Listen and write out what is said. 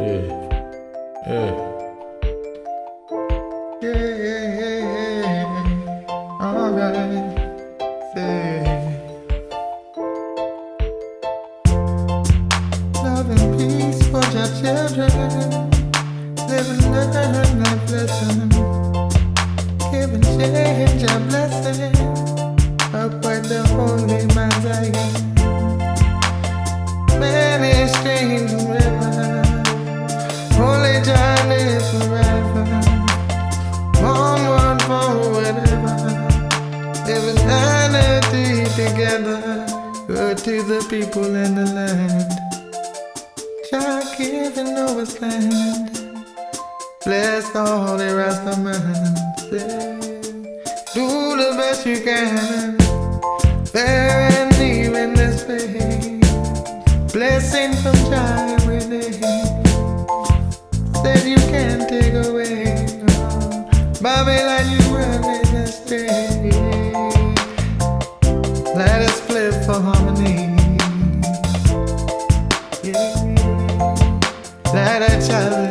Yeah, yeah, Yeah, alright, say love and peace for your children. Live and learn that lesson. Give and change your blessing. Upward the holy man's eye. Many streams and rivers. Holy journey forever. Onward, forward ever. Live eternity together. Good to the people in the land. Jah giving over his land. Bless all the Rasta man. Do the best you can. Bear and leave in this pain. Blessing from Jah every day. Said you can't take away. Babylon, you run in the state. Let us flip for harmony. Yeah. Let us challenge.